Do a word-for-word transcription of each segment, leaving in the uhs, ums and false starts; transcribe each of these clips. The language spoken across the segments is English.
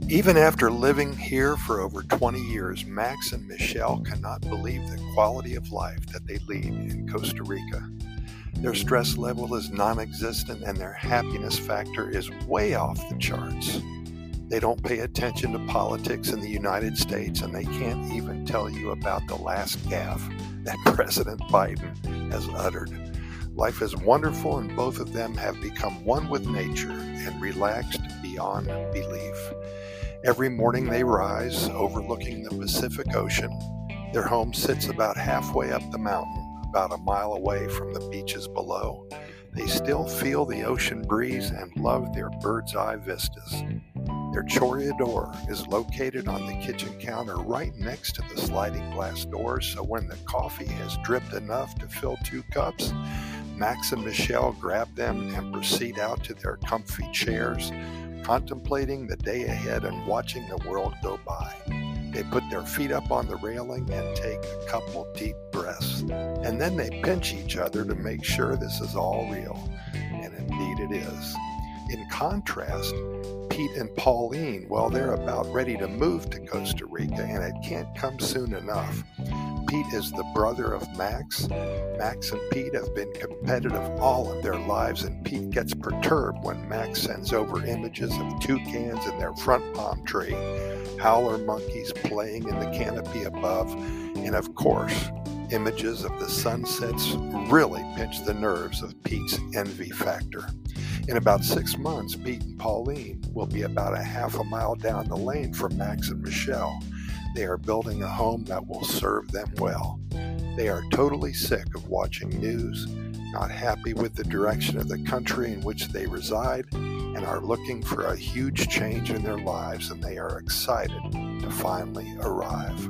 Even after living here for over twenty years, Max and Michelle cannot believe the quality of life that they lead in Costa Rica. Their stress level is non-existent and their happiness factor is way off the charts. They don't pay attention to politics in the United States, and they can't even tell you about the last gaffe that President Biden has uttered. Life is wonderful, and both of them have become one with nature and relaxed beyond belief. Every morning they rise, overlooking the Pacific Ocean. Their home sits about halfway up the mountain, about a mile away from the beaches below. They still feel the ocean breeze and love their bird's eye vistas. Their Choreador is located on the kitchen counter right next to the sliding glass doors, so when the coffee has dripped enough to fill two cups, Max and Michelle grab them and proceed out to their comfy chairs, contemplating the day ahead and watching the world go by. They put their feet up on the railing and take a couple deep breaths, and then they pinch each other to make sure this is all real, and indeed it is. In contrast, Pete and Pauline, well, they're about ready to move to Costa Rica, and it can't come soon enough. Pete is the brother of Max. Max and Pete have been competitive all of their lives, and Pete gets perturbed when Max sends over images of toucans in their front palm tree, howler monkeys playing in the canopy above, and of course, images of the sunsets really pinch the nerves of Pete's envy factor. In about six months, Pete and Pauline will be about a half a mile down the lane from Max and Michelle. They are building a home that will serve them well. They are totally sick of watching news, not happy with the direction of the country in which they reside, and are looking for a huge change in their lives, and they are excited to finally arrive.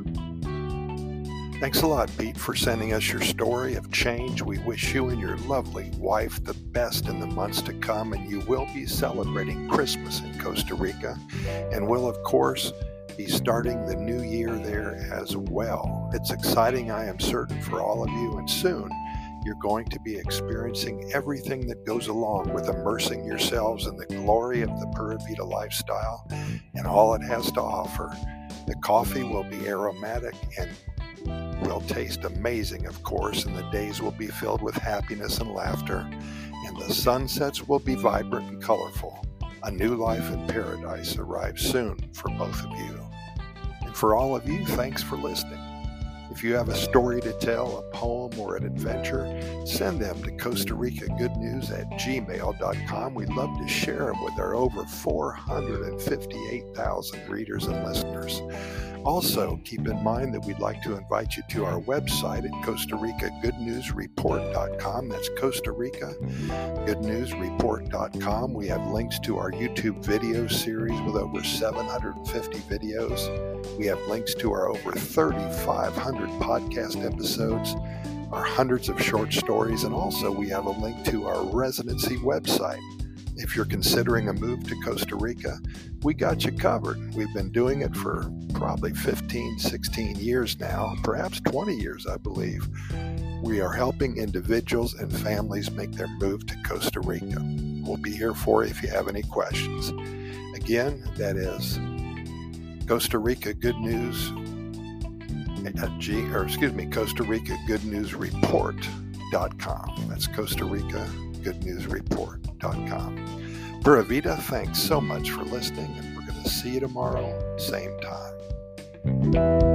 Thanks a lot, Pete, for sending us your story of change. We wish you and your lovely wife the best in the months to come, and you will be celebrating Christmas in Costa Rica, and will, of course, be starting the new year there as well. It's exciting, I am certain, for all of you, and soon you're going to be experiencing everything that goes along with immersing yourselves in the glory of the Pura Vida lifestyle and all it has to offer. The coffee will be aromatic and will taste amazing, of course, and the days will be filled with happiness and laughter, and the sunsets will be vibrant and colorful. A new life in paradise arrives soon for both of you. And for all of you, thanks for listening. If you have a story to tell, a poem, or an adventure, send them to Costa Rica Good News at gmail dot com. We'd love to share them with our over four hundred fifty-eight thousand readers and listeners. Also, keep in mind that we'd like to invite you to our website at Costa Rica Good News Report dot com. That's Costa Rica Good News Report dot com. We have links to our YouTube video series with over seven hundred fifty videos. We have links to our over thirty-five hundred podcast episodes, our hundreds of short stories, and also we have a link to our residency website. If you're considering a move to Costa Rica, we got you covered. We've been doing it for probably fifteen, sixteen years now, perhaps twenty years, I believe. We are helping individuals and families make their move to Costa Rica. We'll be here for you if you have any questions. Again, that is Costa Rica Good News, at G, or excuse me, Costa Rica Good News Report dot com. That's Costa Rica Good News Report dot com. Pura Vida, thanks so much for listening, and we're going to see you tomorrow, same time.